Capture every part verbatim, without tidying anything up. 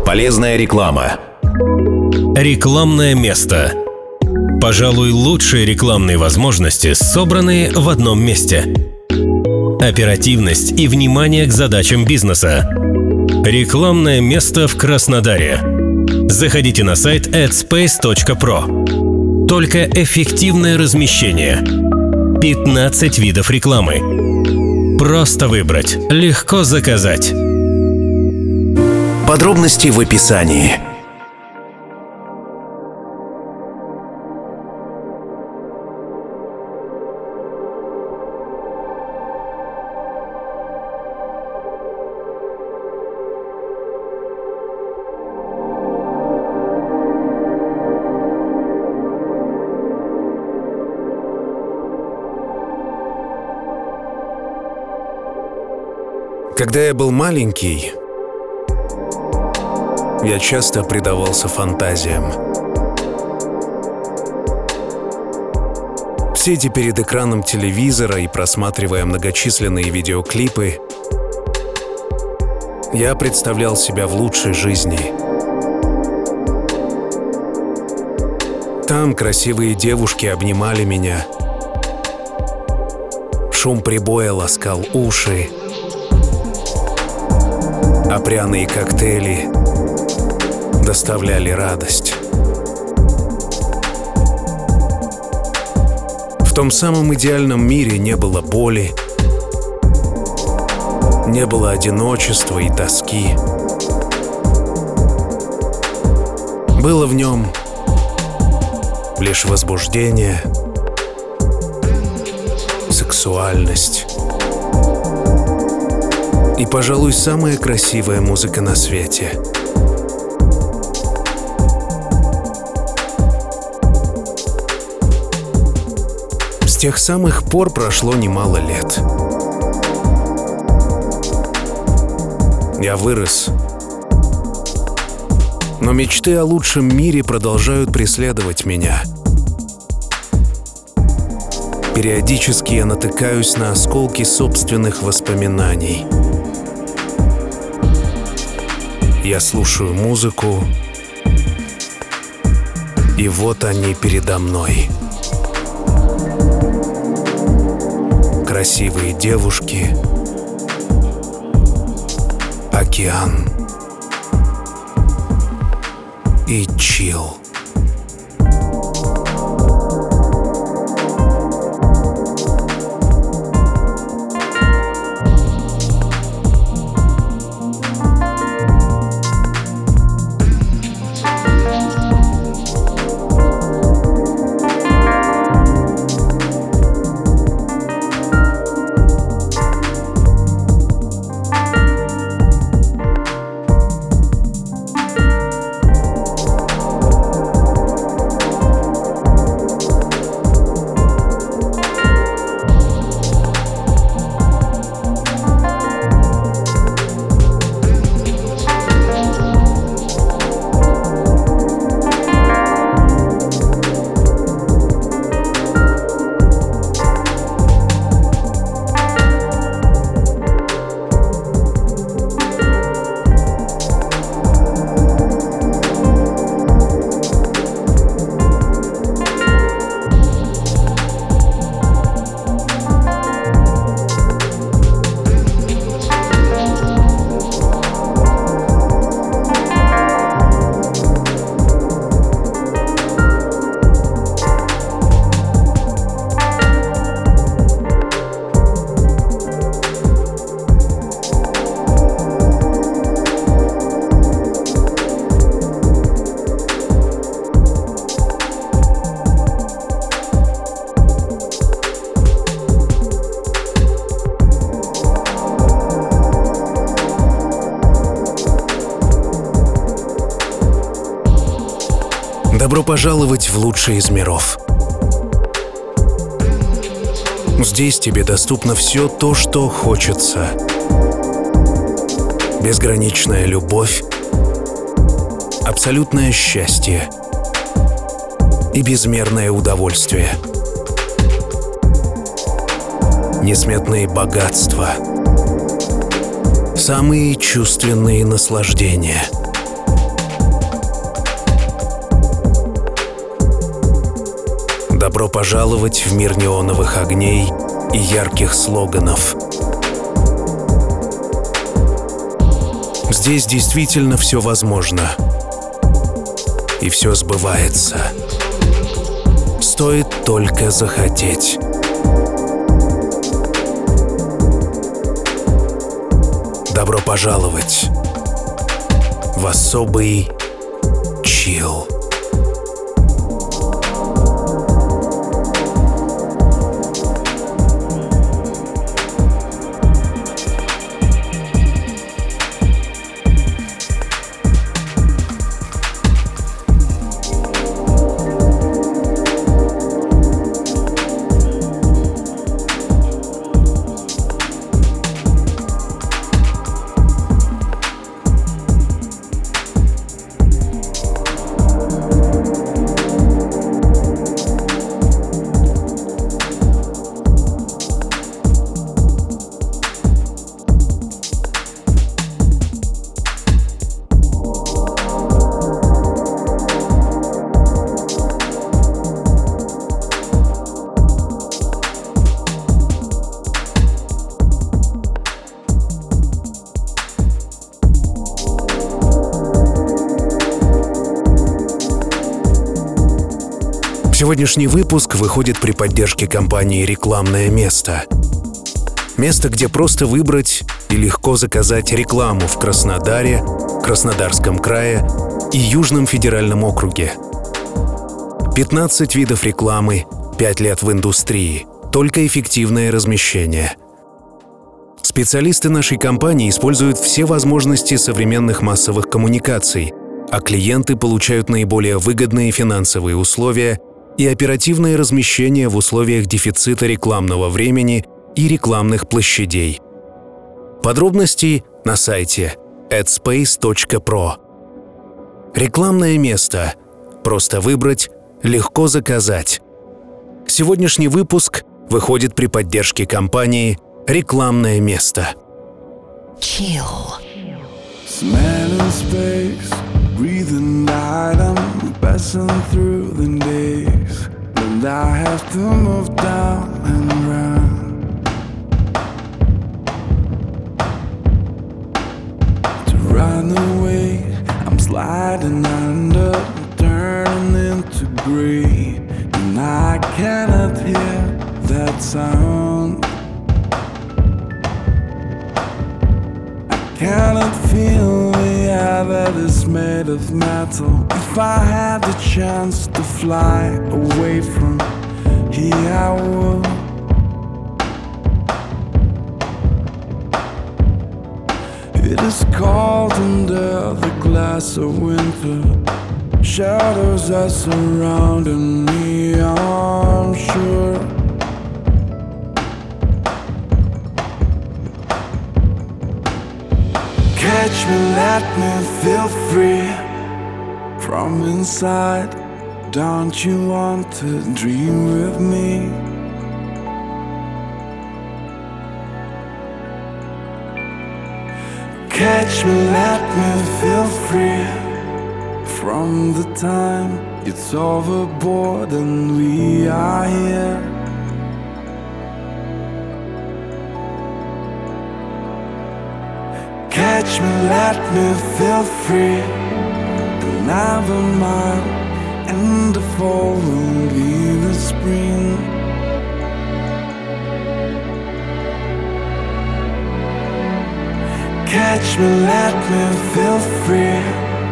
Полезная реклама. Рекламное место. Пожалуй, лучшие рекламные возможности собраны в одном месте. Оперативность и внимание к задачам бизнеса. Рекламное место в Краснодаре. Заходите на сайт adspace точка про. Только эффективное размещение. пятнадцать видов рекламы. Просто выбрать, легко заказать. Подробности в описании. Когда я был маленький, я часто предавался фантазиям. Сидя перед экраном телевизора и просматривая многочисленные видеоклипы, я представлял себя в лучшей жизни. Там красивые девушки обнимали меня, шум прибоя ласкал уши, а пряные коктейли доставляли радость. В том самом идеальном мире не было боли, не было одиночества и тоски. Было в нем лишь возбуждение, сексуальность и, пожалуй, самая красивая музыка на свете. С тех самых пор прошло немало лет. Я вырос, но мечты о лучшем мире продолжают преследовать меня. Периодически я натыкаюсь на осколки собственных воспоминаний. Я слушаю музыку, и вот они передо мной. Красивые девушки, океан и чилл. Добро пожаловать в лучший из миров. Здесь тебе доступно все то, что хочется. Безграничная любовь, абсолютное счастье и безмерное удовольствие. Несметные богатства, самые чувственные наслаждения. Добро пожаловать в мир неоновых огней и ярких слоганов. Здесь действительно все возможно. И все сбывается. Стоит только захотеть. Добро пожаловать в особый чилл. Сегодняшний выпуск выходит при поддержке компании «Рекламное место». Место, где просто выбрать и легко заказать рекламу в Краснодаре, Краснодарском крае и Южном федеральном округе. пятнадцать видов рекламы, пять лет в индустрии, только эффективное размещение. Специалисты нашей компании используют все возможности современных массовых коммуникаций, а клиенты получают наиболее выгодные финансовые условия и оперативное размещение в условиях дефицита рекламного времени и рекламных площадей. Подробности на сайте adspace точка про. Рекламное место. Просто выбрать, легко заказать. Сегодняшний выпуск выходит при поддержке компании «Рекламное место». Chill. Smelling space, breathing light, I'm passing through the days, and I have to move down and round to run away. I'm sliding under, turning into gray, and I cannot hear that sound. Cannot feel the air that is made of metal. If I had the chance to fly away from here, I would. It is cold under the glass of winter. Shadows are surrounding me, I'm sure. Catch me, let me feel free from inside. Don't you want to dream with me? Catch me, let me feel free from the time it's overboard and we are here. Catch me, let me feel free. Another mile and the fall will be the spring. Catch me, let me feel free.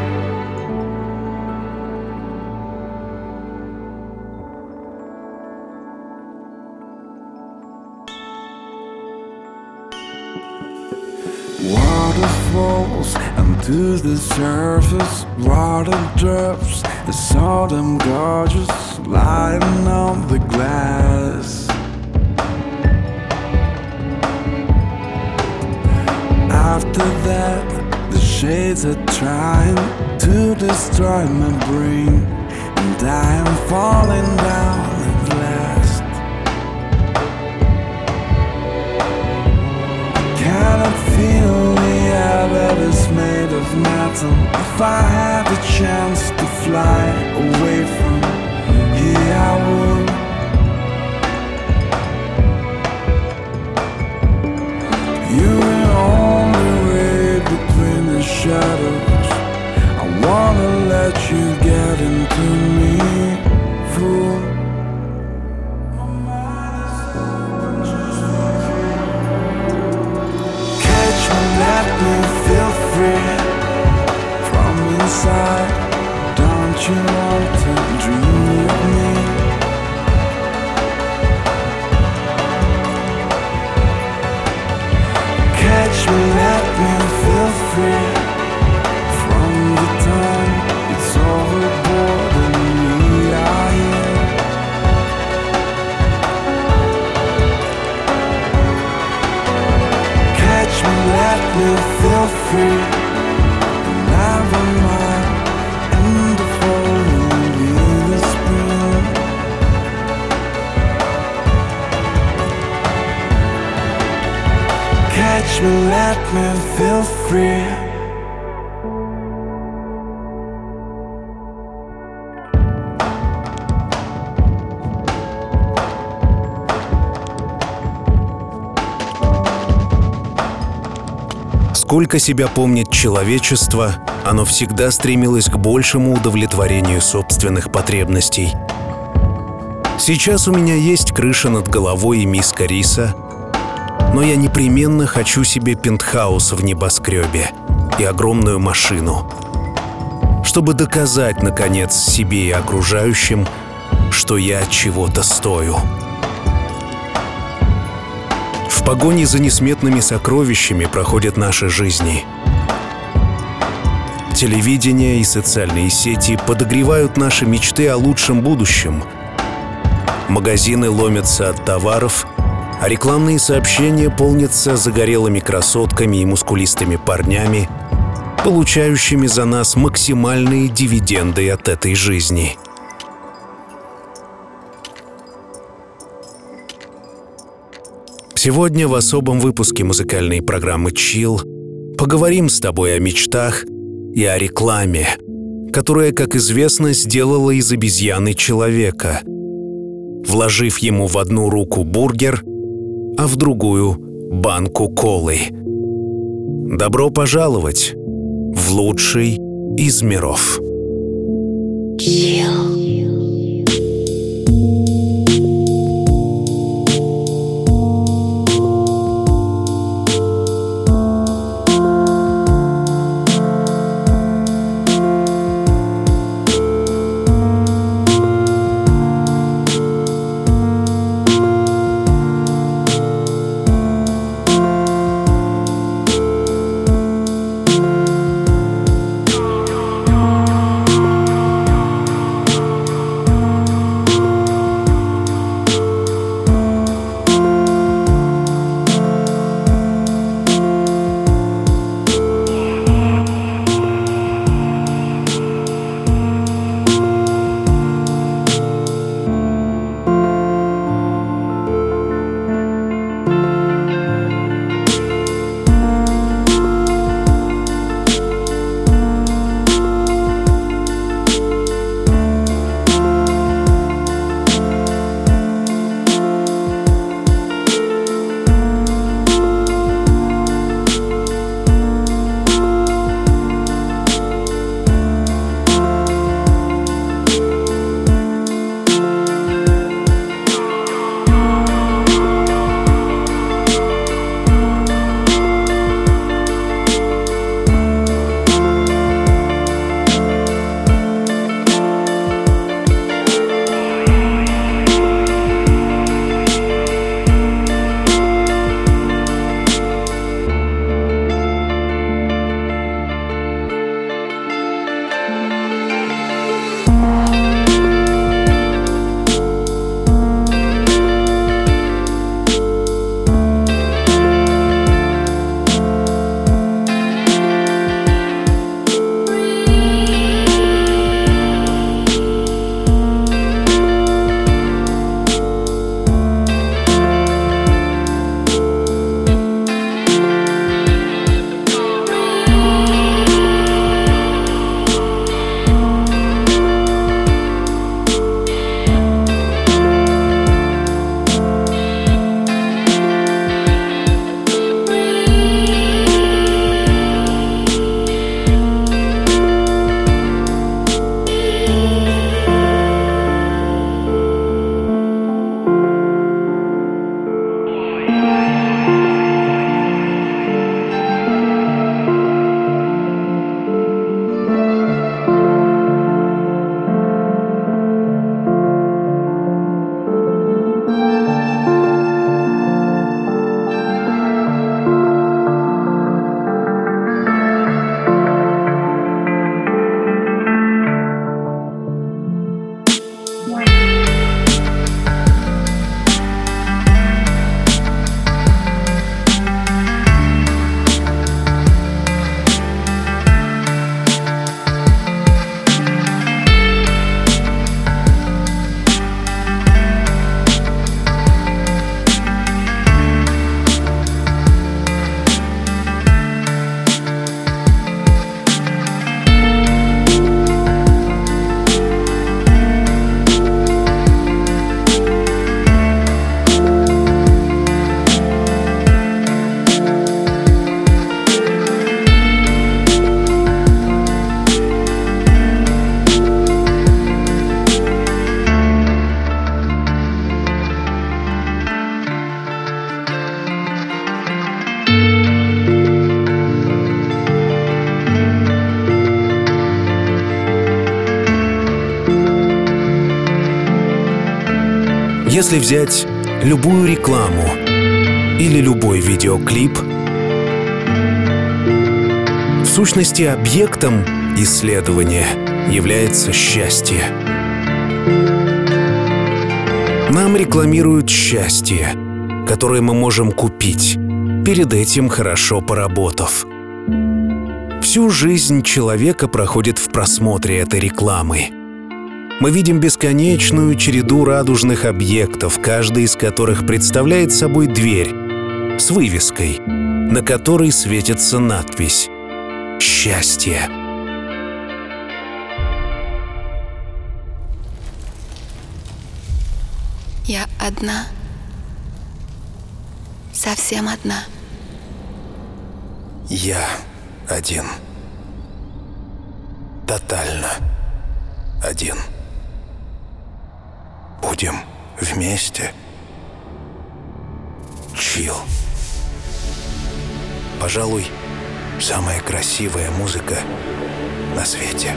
Waterfalls and to the surface, water drops, I saw them gorgeous, lying on the glass. After that, the shades are trying to destroy my brain, and I am falling down at last. I cannot feel the air that is made of metal. If I had the chance to fly away from here, I would. wanna let you get into me, fool. Catch me, let me feel free from inside. Don't you want to dream with me? Catch me, let me feel free from the time it's overboard and we are here. Catch me, let me feel free. Never mind, in the fall will be the spring. Catch me, let me feel free. Сколько себя помнит человечество, оно всегда стремилось к большему удовлетворению собственных потребностей. Сейчас у меня есть крыша над головой и миска риса, но я непременно хочу себе пентхаус в небоскребе и огромную машину, чтобы доказать, наконец, себе и окружающим, что я чего-то стою. В погоне за несметными сокровищами проходят наши жизни. Телевидение и социальные сети подогревают наши мечты о лучшем будущем. Магазины ломятся от товаров, а рекламные сообщения полнятся загорелыми красотками и мускулистыми парнями, получающими за нас максимальные дивиденды от этой жизни. Сегодня в особом выпуске музыкальной программы Chill поговорим с тобой о мечтах и о рекламе, которая, как известно, сделала из обезьяны человека, вложив ему в одну руку бургер, а в другую — банку колы. Добро пожаловать в лучший из миров. Chill. Если взять любую рекламу или любой видеоклип, в сущности, объектом исследования является счастье. Нам рекламируют счастье, которое мы можем купить, перед этим хорошо поработав. Всю жизнь человека проходит в просмотре этой рекламы. Мы видим бесконечную череду радужных объектов, каждый из которых представляет собой дверь с вывеской, на которой светится надпись «Счастье». Я одна. Совсем одна. Я один. Тотально один. Будем вместе. Чил. Пожалуй, самая красивая музыка на свете.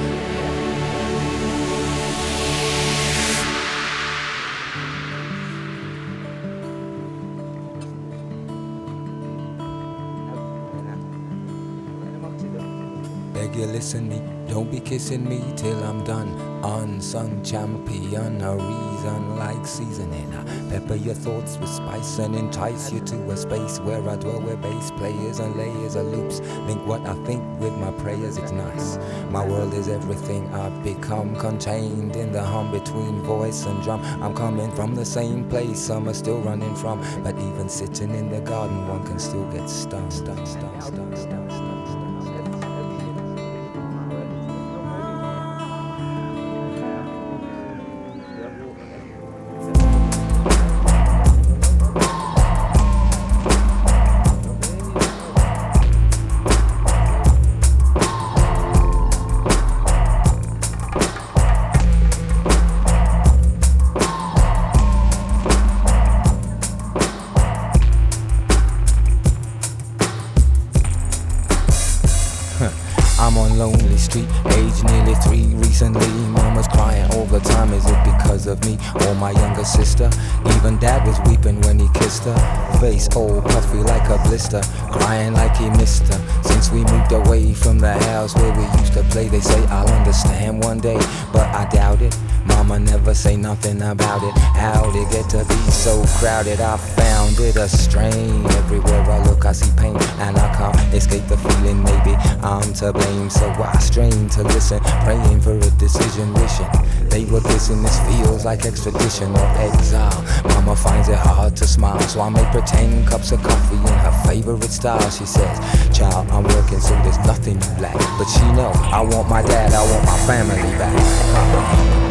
Beg you listen me, don't be kissing me till I'm done. Unsung champion, a reason like seasoning. Pepper your thoughts with spice and entice you to a space where I dwell with bass players and layers of loops. Link what I think with my prayers, it's nice. My world is everything I've become, contained in the hum between voice and drum. I'm coming from the same place some are still running from, but even sitting in the garden one can still get stung, stung, stung, stung, stung, stung. I'm on lonely street, age nearly three recently. Mama's crying all the time, is it because of me or my younger sister? Even dad was weeping when he kissed her. Face all puffy like a blister, crying like he missed her. Since we moved away from the house where we used to play, they say I'll understand one day, but I doubt it. Mama never say nothing about it. How'd it get to be so crowded? I found it a strain. Everywhere I look I see pain, and I can't escape the feeling maybe I'm to blame. So I strain to listen, praying for a decision, wishing they were kissing. This feels like extradition or exile. Mama finds it hard to smile, so I make pretend cups of coffee in her favorite style. She says, child, I'm working so there's nothing you lack. But she know I want my dad, I want my family back.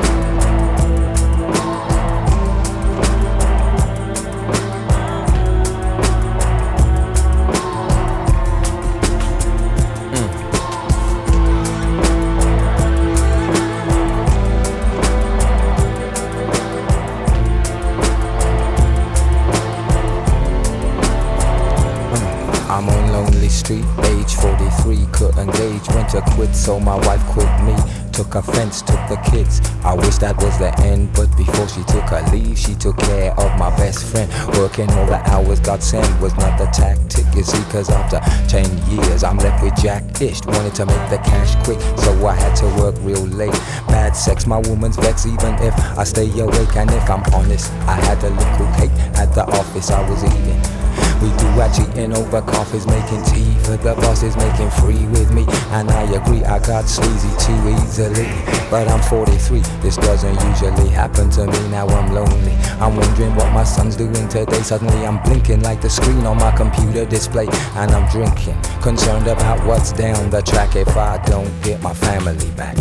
I'm on lonely street, age forty-three, couldn't gauge when to quit, so my wife quit me. Took offense, took the kids. I wish that was the end, but before she took her leave, she took care of my best friend. Working all the hours God sent was not the tactic, you see, cause after ten years I'm left with Jack-ish. Wanted to make the cash quick, so I had to work real late. Bad sex, my woman's vex, even if I stay awake. And if I'm honest, I had a little cake at the office I was eating. We do our cheating over coffees, making tea for the bosses, making free with me. And I agree, I got sleazy too easily. But I'm forty-three, this doesn't usually happen to me. Now I'm lonely, I'm wondering what my son's doing today. Suddenly I'm blinking like the screen on my computer display. And I'm drinking, concerned about what's down the track if I don't get my family back.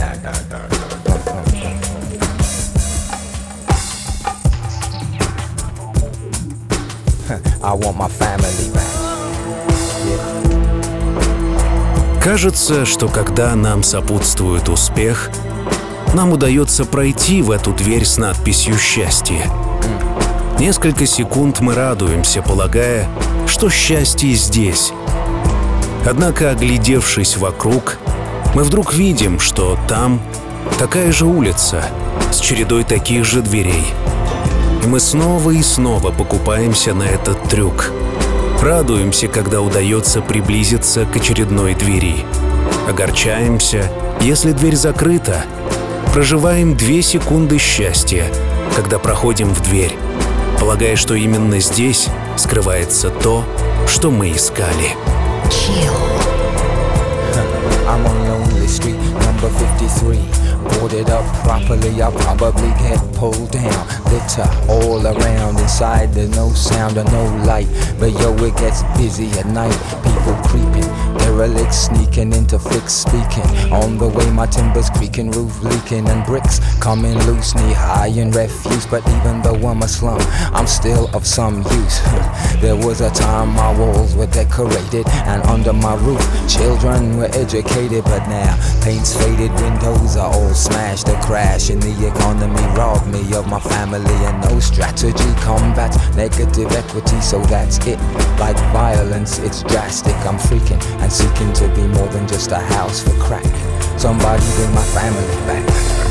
I want my family back. Кажется, что когда нам сопутствует успех, нам удается пройти в эту дверь с надписью «Счастье». Несколько секунд мы радуемся, полагая, что счастье здесь. Однако, оглядевшись вокруг, мы вдруг видим, что там такая же улица с чередой таких же дверей. И мы снова и снова покупаемся на этот трюк. Радуемся, когда удается приблизиться к очередной двери. Огорчаемся, если дверь закрыта. Проживаем две секунды счастья, когда проходим в дверь, полагая, что именно здесь скрывается то, что мы искали. I'm on lonely street, number fifty-three. Boarded up properly, I'll probably get pulled down. Litter all around, inside there's no sound or no light. But yo, it gets busy at night, people creeping, derelicts sneaking into fixed speaking. On the way my timbers creaking, roof leaking and bricks coming loose, knee high in refuse. But even though I'm a slum, I'm still of some use. There was a time my walls were decorated, and under my roof children were educated. But now paint's faded, windows are all smashed. A crash in the economy robbed me of my family, and no strategy combats negative equity. So that's it, like violence, it's drastic. I'm freaking and seeking to be more than just a house for crack. Somebody bring my family back.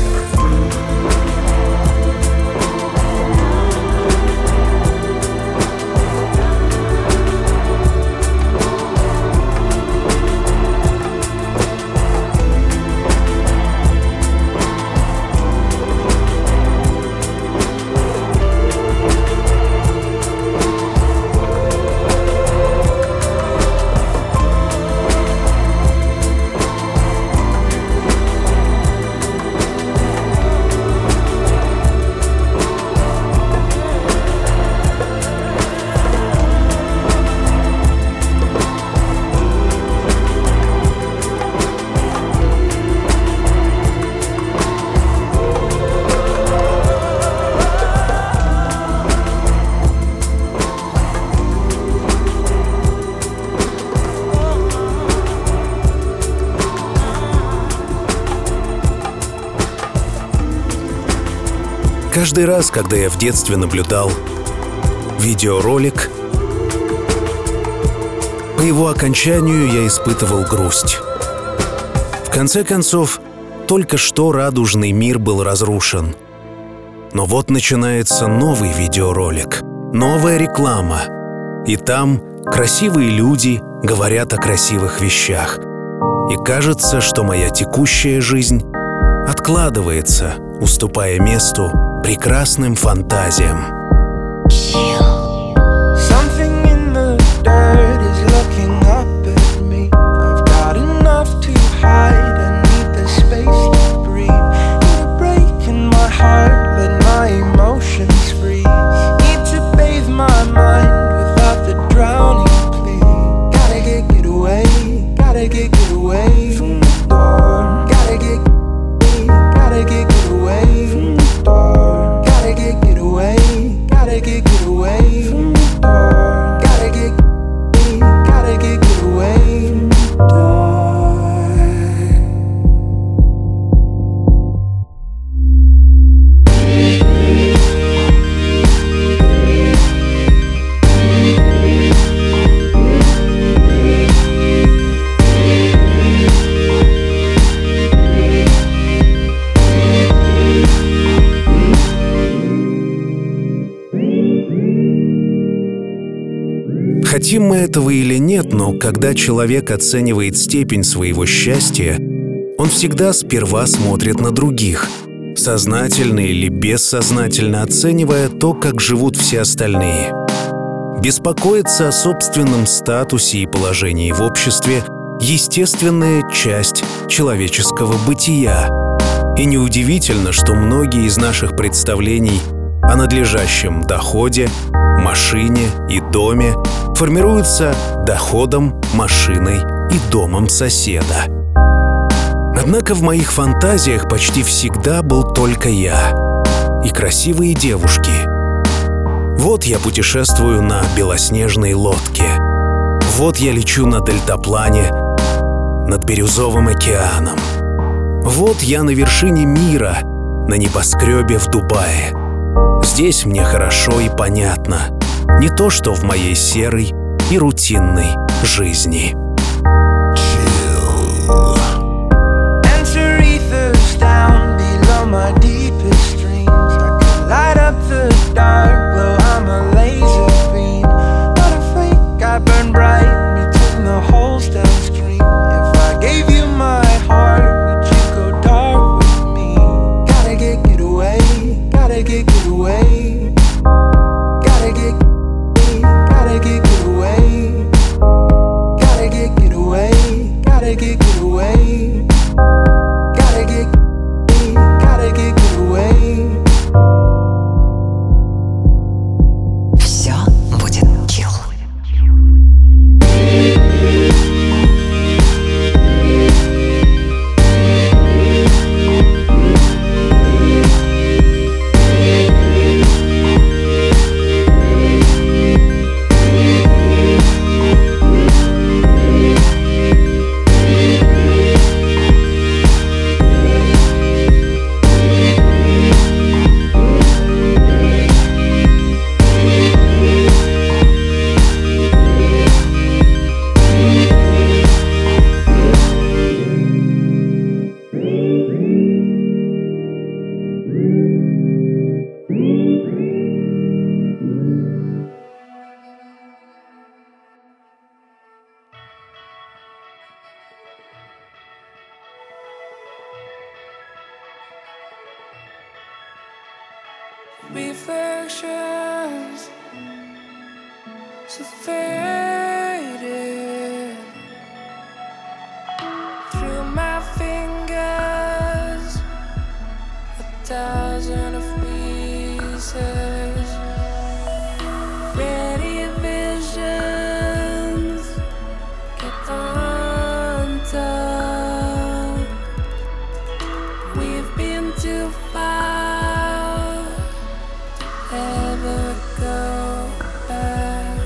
Каждый раз, когда я в детстве наблюдал видеоролик, по его окончанию я испытывал грусть. В конце концов, только что радужный мир был разрушен. Но вот начинается новый видеоролик, новая реклама. И там красивые люди говорят о красивых вещах. И кажется, что моя текущая жизнь откладывается, уступая месту прекрасным фантазиям. Something in the dirt is looking up at me. I've got enough to hide and need the space to breathe. Need a break in my heart, let my emotions freeze. Need to bathe my mind without the drowning plea. Gotta get, get away, gotta get, get away from the door. Gotta get, gotta get, get away from the door. Gotta get, get away, gotta get, get away from the door. Gotta get, gotta get, get away from the door. Хотим мы этого или нет, но когда человек оценивает степень своего счастья, он всегда сперва смотрит на других, сознательно или бессознательно оценивая то, как живут все остальные. Беспокоиться о собственном статусе и положении в обществе — естественная часть человеческого бытия. И неудивительно, что многие из наших представлений о надлежащем доходе, машине и доме формируются доходом, машиной и домом соседа. Однако в моих фантазиях почти всегда был только я и красивые девушки. Вот я путешествую на белоснежной лодке. Вот я лечу на дельтаплане над бирюзовым океаном. Вот я на вершине мира, на небоскребе в Дубае. Здесь мне хорошо и понятно. Не то, что в моей серой и рутинной жизни. Enter ethers down below my deepest dreams. I can light up the dark. reflections so faded through my fingers, a thousand of pieces, ready visions get undone. We've been too far to ever go back.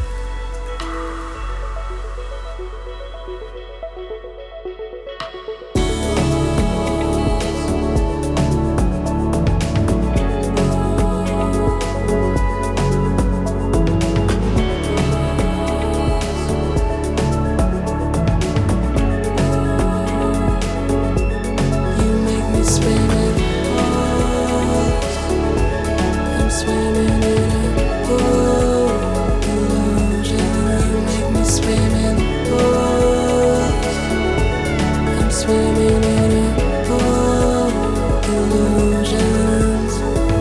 You make me spin it pause. I'm swimming in a pool illusion. You make me spin it pause. I'm swimming in a pool illusions.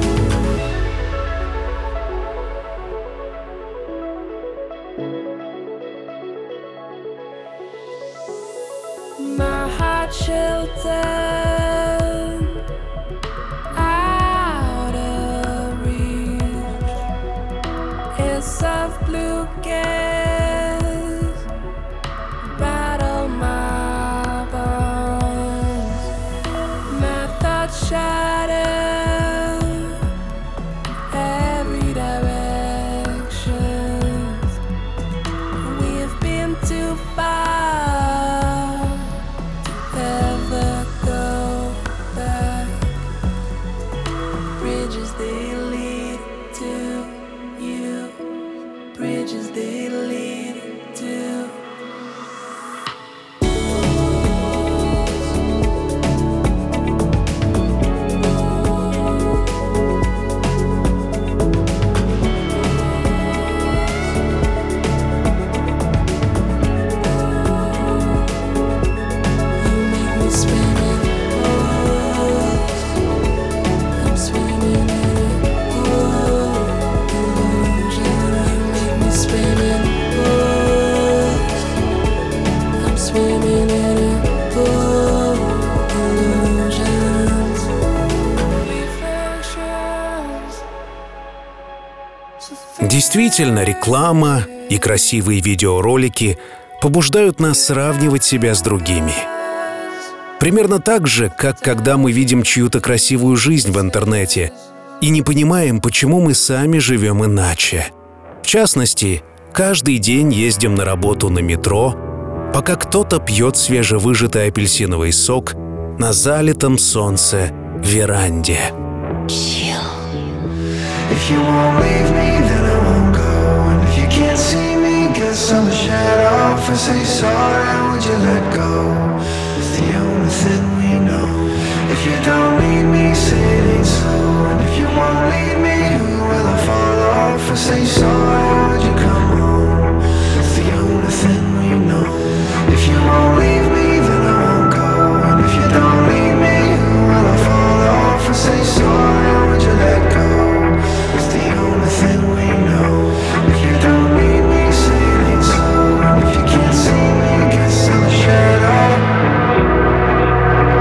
My heart sheltered out of reach. It's soft blue gaze battle my bones. My thoughts shatter every direction. We've been too far to ever go back. Bridges they lead to you. Bridges they lead to. You make me spin it pause. I'm swimming in a pool illusion. You make me spin it pause. I'm swimming in a pool illusions. Reflections so Действительно, реклама и красивые видеоролики побуждают нас сравнивать себя с другими. Примерно так же, как когда мы видим чью-то красивую жизнь в интернете и не понимаем, почему мы сами живем иначе. В частности, каждый день ездим на работу на метро, пока кто-то пьет свежевыжатый апельсиновый сок на залитом солнце веранде. If you won't leave me, then I won't go. And if you can't see me, guess I'll shut off and say sorry. Would you let go? It's the only thing we know. If you don't need me, say it ain't so. And if you won't lead me, who will I fall off and say sorry? Would you come home? It's the only thing we know. If you won't leave me, then I won't go. And if you don't lead me, who will I fall off and say sorry? Would you let go? It's the only thing we know. If you don't need me, say it ain't so. And if you can't see me, guess I'll shut up.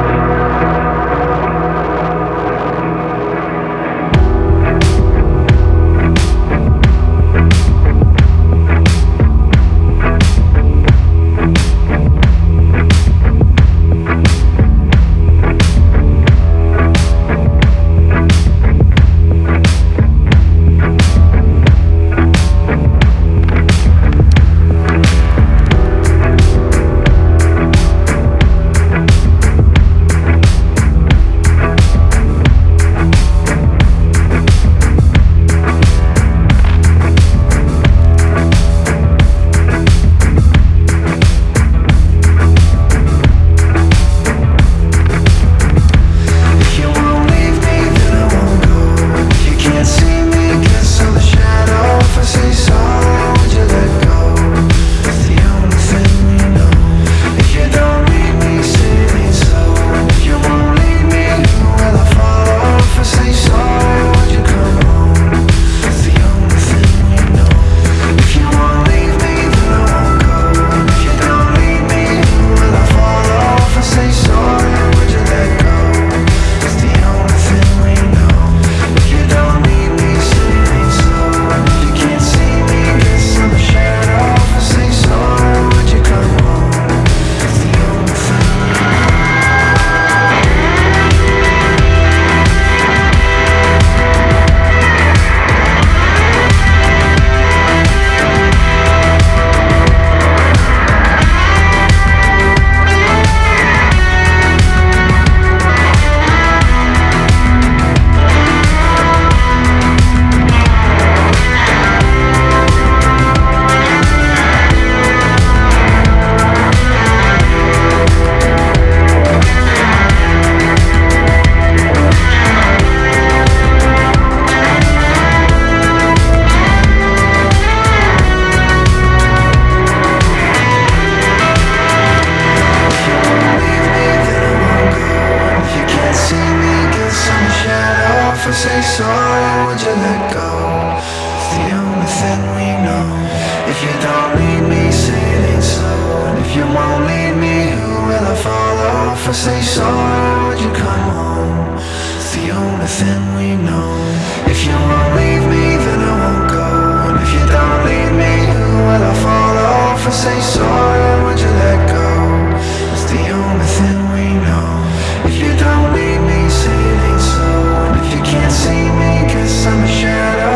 and say sorry, would you let go? It's the only thing we know. If you don't need me, say it ain't so. And if you won't need me, who will I follow? If I say sorry, would you come home? It's the only thing we know. If you won't leave me, then I won't go. And if you don't need me, who will I follow? If I say sorry, would you let go? It's the only thing we know. If you don't need me, say it ain't so. And if you can't see me, guess I'm a shadow.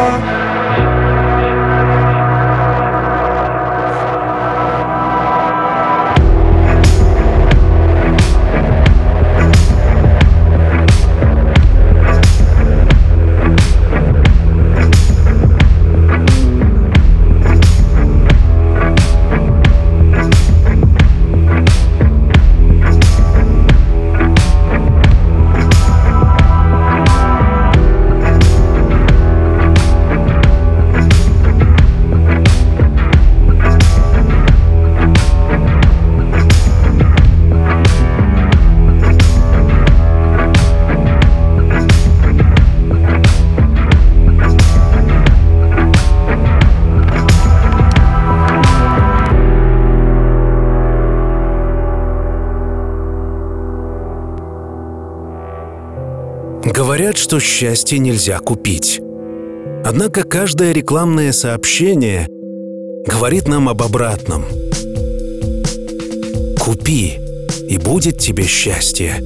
Говорят, что счастье нельзя купить. Однако каждое рекламное сообщение говорит нам об обратном. Купи, и будет тебе счастье.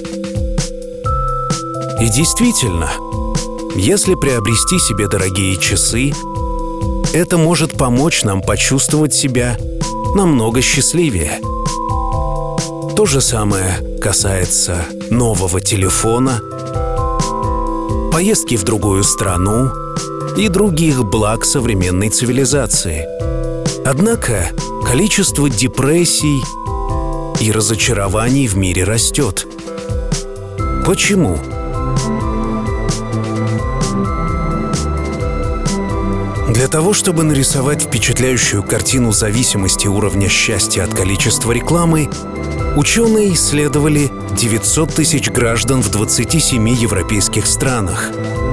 И действительно, если приобрести себе дорогие часы, это может помочь нам почувствовать себя намного счастливее. То же самое касается нового телефона, поездки в другую страну и других благ современной цивилизации. Однако количество депрессий и разочарований в мире растет. Почему? Для того, чтобы нарисовать впечатляющую картину зависимости уровня счастья от количества рекламы, ученые исследовали девятьсот тысяч граждан в двадцати семи европейских странах.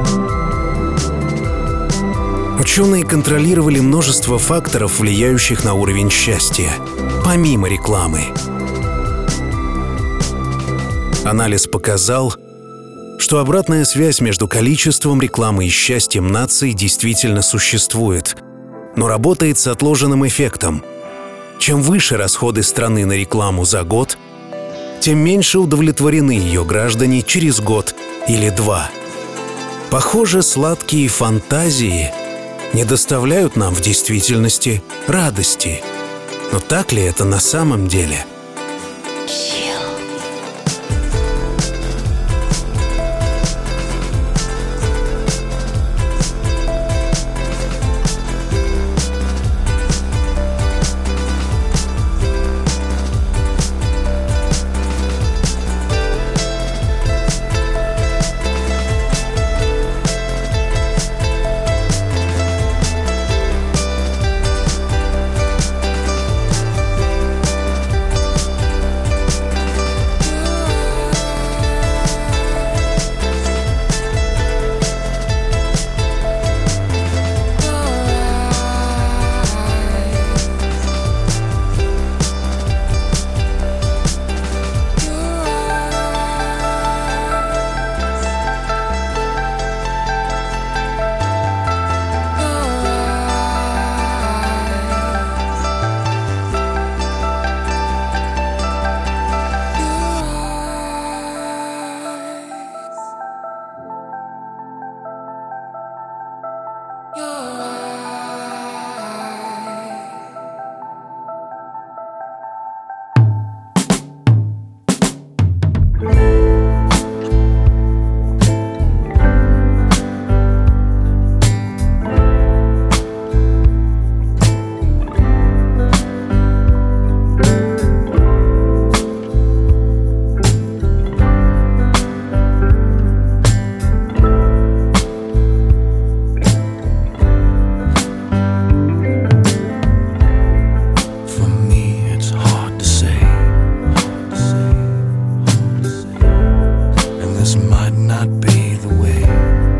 Ученые контролировали множество факторов, влияющих на уровень счастья, помимо рекламы. Анализ показал, что обратная связь между количеством рекламы и счастьем наций действительно существует, но работает с отложенным эффектом. Чем выше расходы страны на рекламу за год, тем меньше удовлетворены ее граждане через год или два. Похоже, сладкие фантазии не доставляют нам в действительности радости. Но так ли это на самом деле? This might not be the way.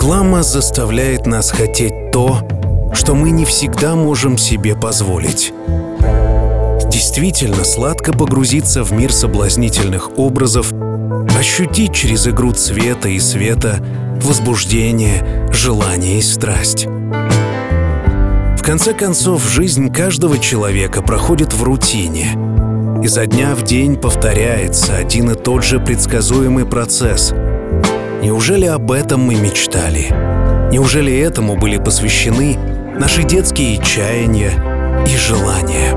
Реклама заставляет нас хотеть то, что мы не всегда можем себе позволить. Действительно сладко погрузиться в мир соблазнительных образов, ощутить через игру цвета и света возбуждение, желание и страсть. В конце концов, жизнь каждого человека проходит в рутине. Изо дня в день повторяется один и тот же предсказуемый процесс. Неужели об этом мы мечтали? Неужели этому были посвящены наши детские чаяния и желания?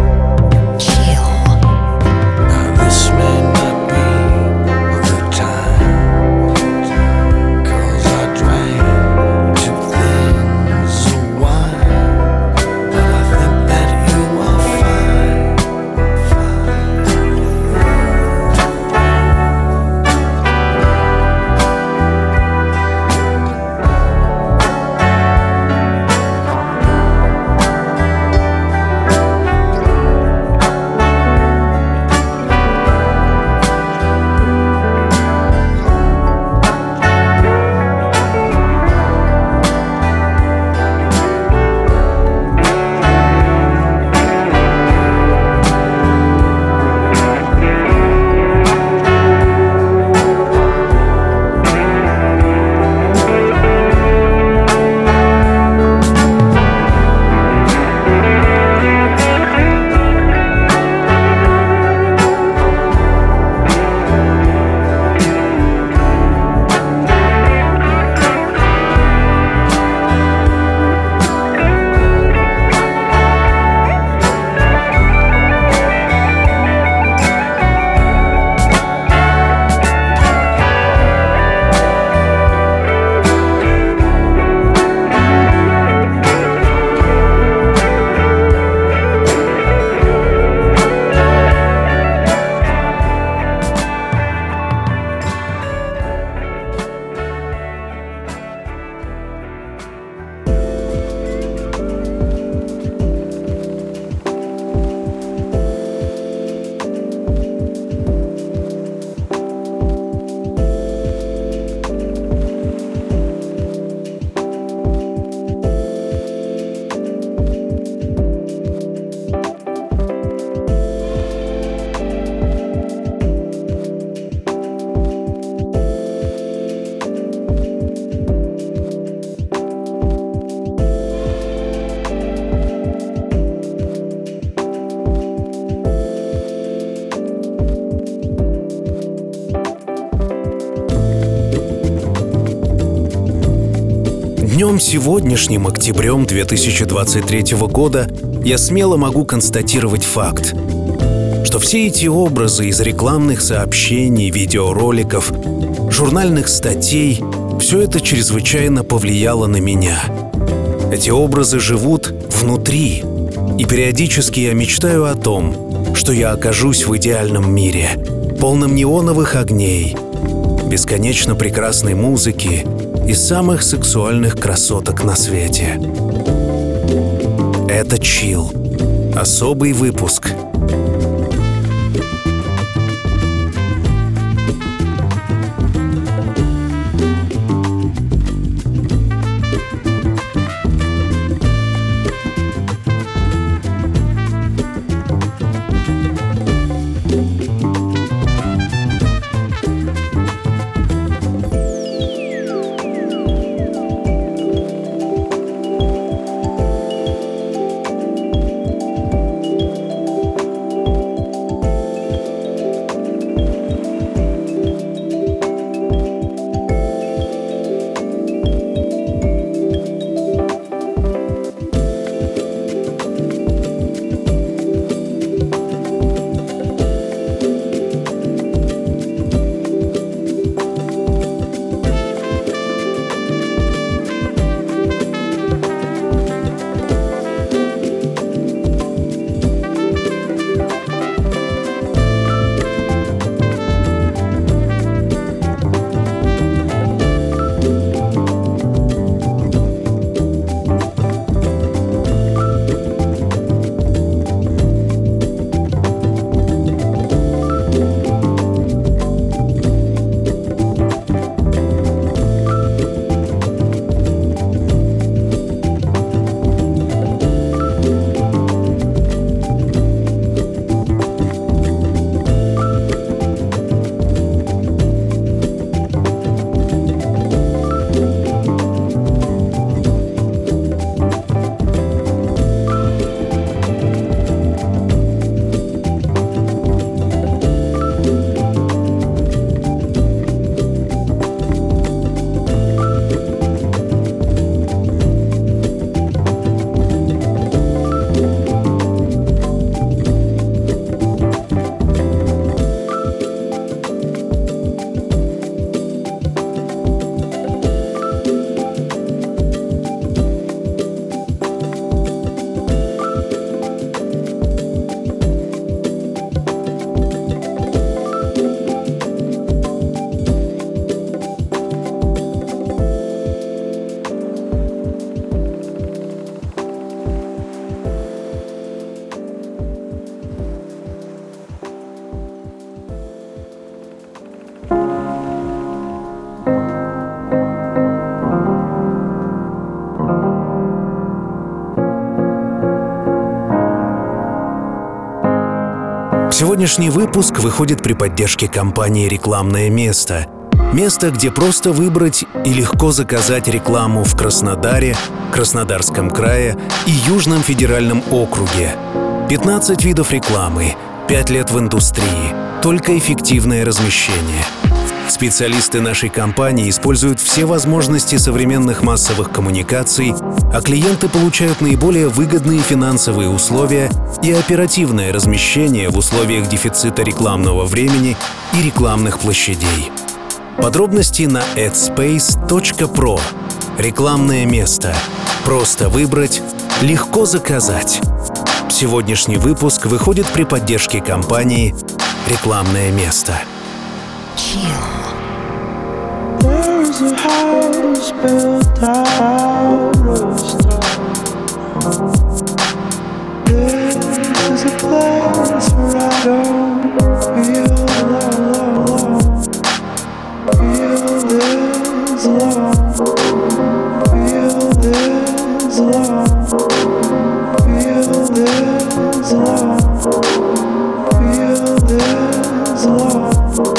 Днем сегодняшним, октябрем две тысячи двадцать третьего года, я смело могу констатировать факт, что все эти образы из рекламных сообщений, видеороликов, журнальных статей — все это чрезвычайно повлияло на меня. Эти образы живут внутри, и периодически я мечтаю о том, что я окажусь в идеальном мире, полном неоновых огней, бесконечно прекрасной музыки и самых сексуальных красоток на свете. Это чилл. Особый выпуск. Сегодняшний выпуск выходит при поддержке компании «Рекламное место». Место, где просто выбрать и легко заказать рекламу в Краснодаре, Краснодарском крае и Южном федеральном округе. пятнадцать видов рекламы, пять лет в индустрии, только эффективное размещение. Специалисты нашей компании используют все возможности современных массовых коммуникаций, а клиенты получают наиболее выгодные финансовые условия и оперативное размещение в условиях дефицита рекламного времени и рекламных площадей. Подробности на эдспейс точка про. Рекламное место. Просто выбрать, легко заказать. Сегодняшний выпуск выходит при поддержке компании «Рекламное место». There's a house built out of stone. This is a place where I don't feel alone. Feel this love. Feel this love. Feel this love. Feel this love.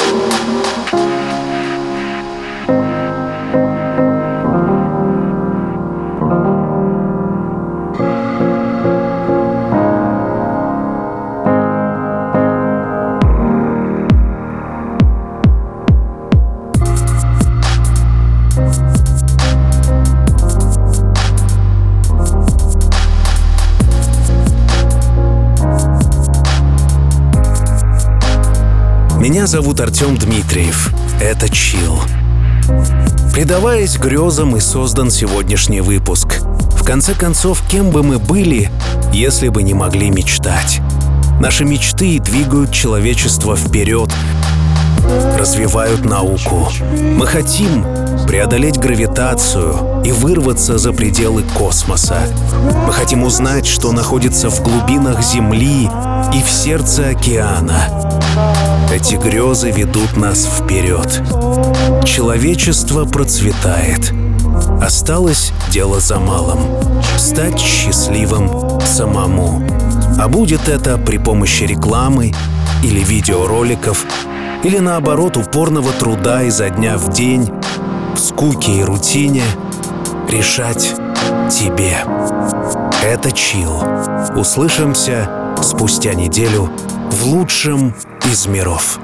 Меня зовут Артем Дмитриев. Это Chill. Предаваясь грезам, и создан сегодняшний выпуск. В конце концов, кем бы мы были, если бы не могли мечтать? Наши мечты двигают человечество вперед, развивают науку. Мы хотим преодолеть гравитацию и вырваться за пределы космоса. Мы хотим узнать, что находится в глубинах Земли и в сердце океана. Эти грезы ведут нас вперед. Человечество процветает. Осталось дело за малым — стать счастливым самому. А будет это при помощи рекламы или видеороликов, или наоборот упорного труда изо дня в день, в скуке и рутине, решать тебе. Это Chill. Услышимся спустя неделю в лучшем из миров.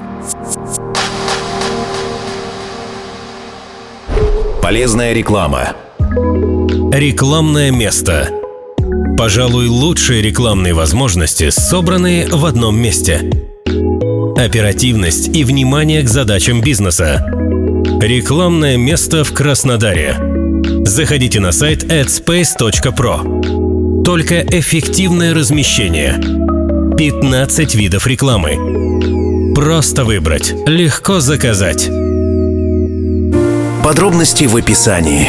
Полезная реклама. Рекламное место. Пожалуй, лучшие рекламные возможности собраны в одном месте. Оперативность и внимание к задачам бизнеса. Рекламное место в Краснодаре. Заходите на сайт эдспейс точка про. Только эффективное размещение. пятнадцать видов рекламы. Просто выбрать, легко заказать. Подробности в описании.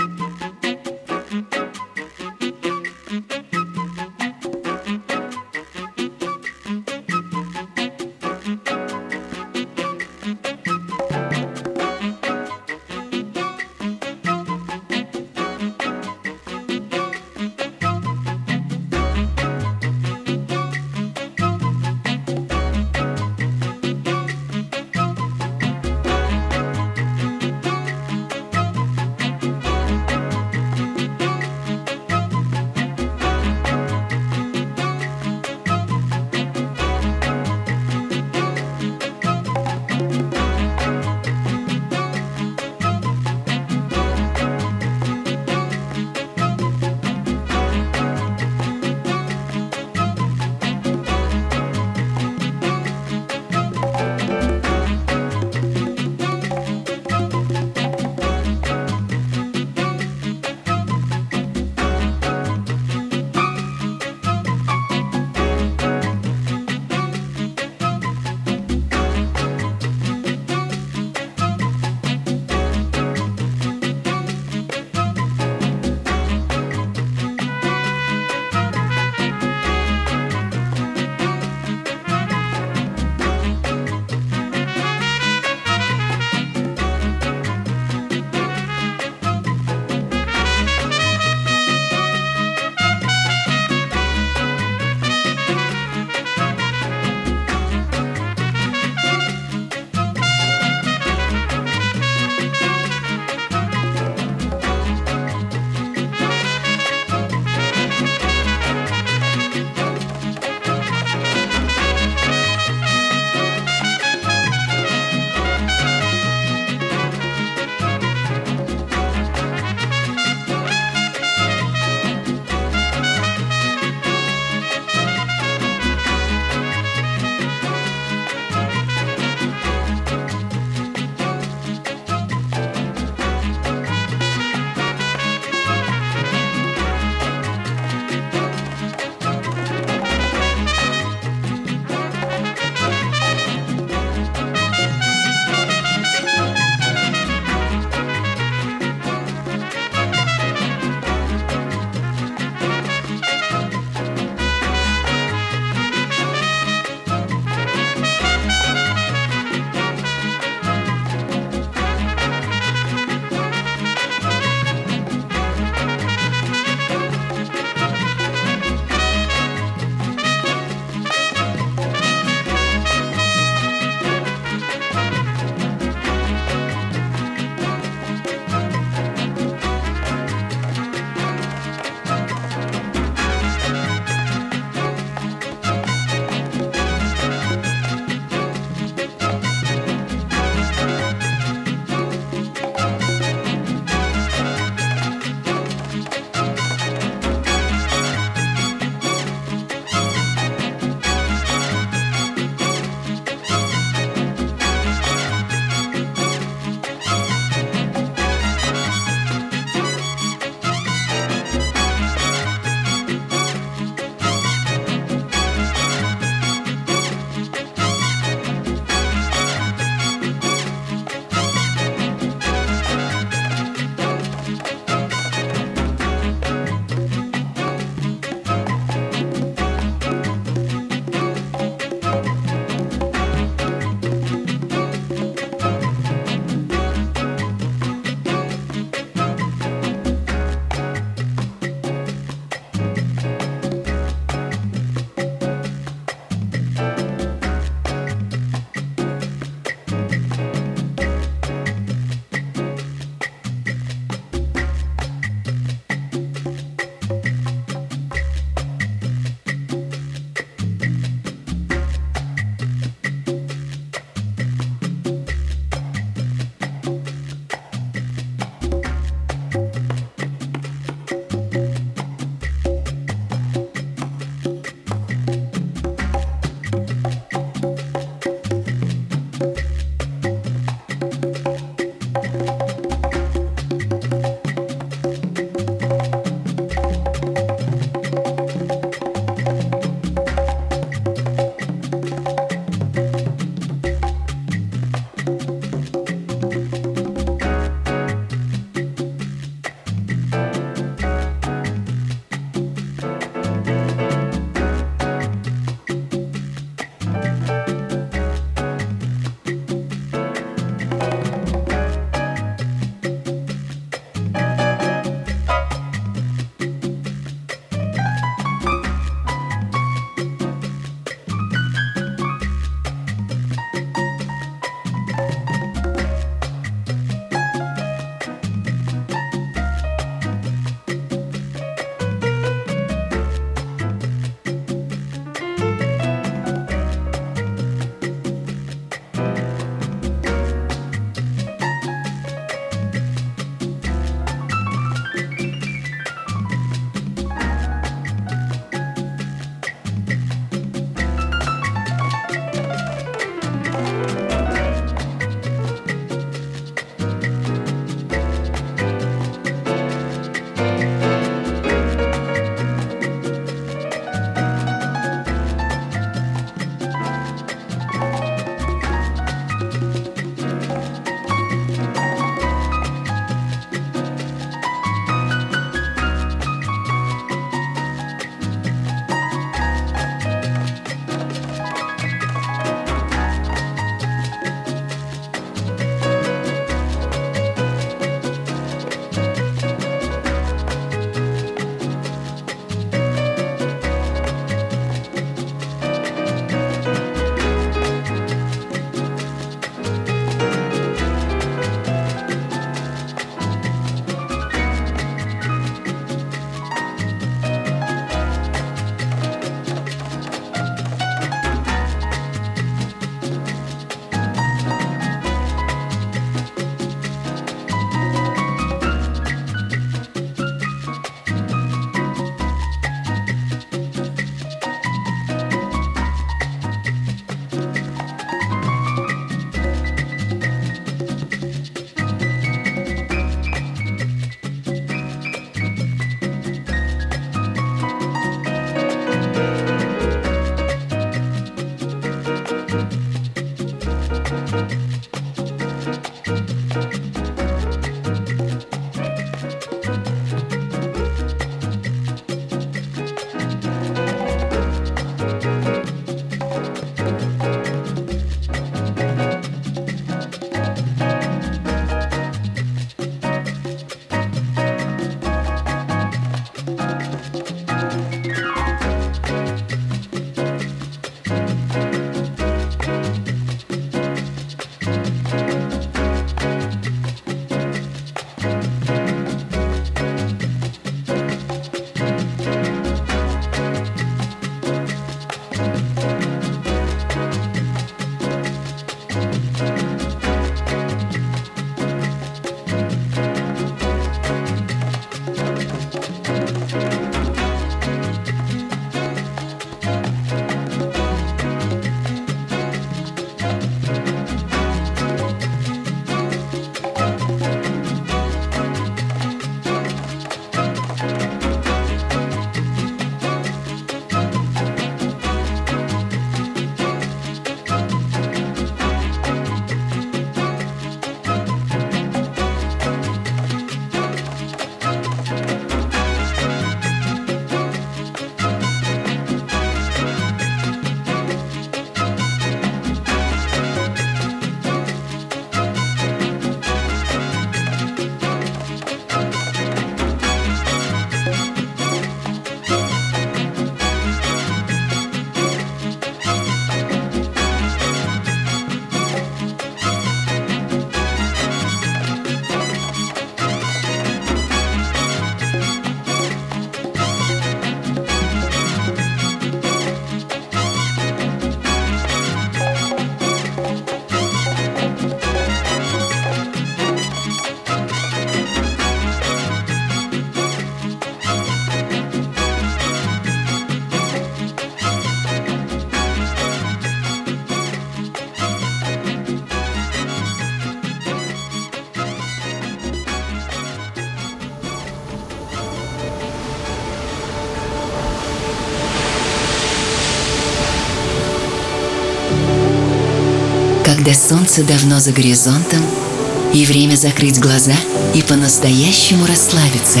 когда солнце давно за горизонтом, и время закрыть глаза и по-настоящему расслабиться.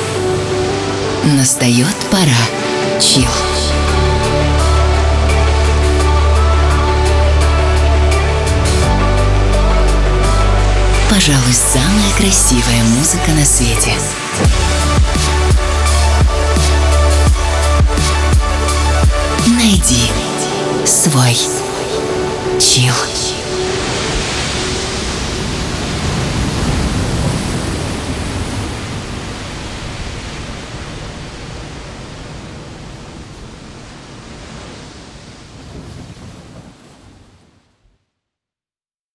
Настает пора чилл. Пожалуй, самая красивая музыка на свете. Найди свой чилл.